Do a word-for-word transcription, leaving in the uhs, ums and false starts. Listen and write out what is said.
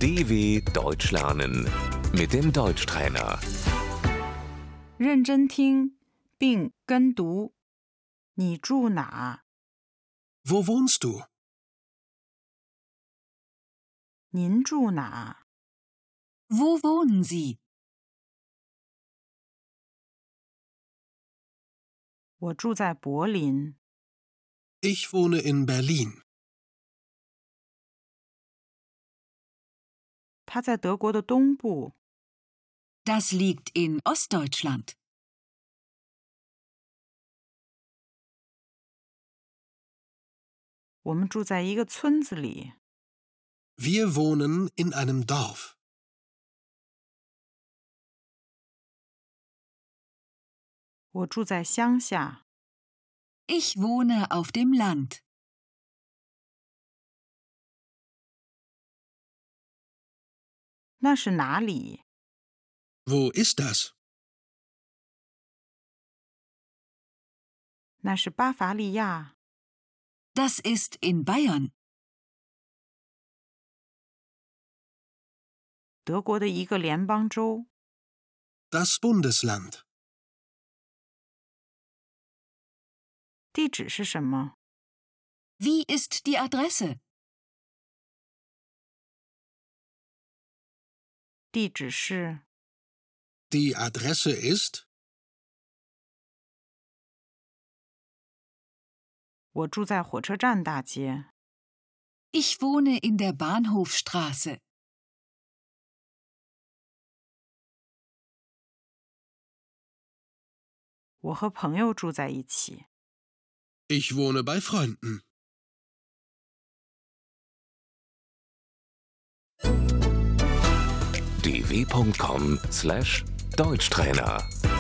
D W Deutsch lernen mit dem Deutschtrainer. 认真听并跟读。你住哪？ Wo wohnst du? 您住哪？ Wo wohnen Sie? 我住在柏林。 Ich wohne in Berlin. 它在德国的东部。 Das liegt in Ostdeutschland. 我们住在一个村子里。 Wir wohnen in einem Dorf. 我住在乡下。 Ich wohne auf dem Land. 那是哪里？ Wo ist das? 那是巴伐利亚。 Das ist in Bayern. 德国的一个联邦州。 Das Bundesland. 地址是什么？ Wie ist die Adresse? 地址是 Die Adresse ist? 我住在火车站大街。 Ich wohne in der Bahnhofstraße. 我和朋友住在一起。 Ich wohne bei Freunden. d w punkt com slash Deutschtrainer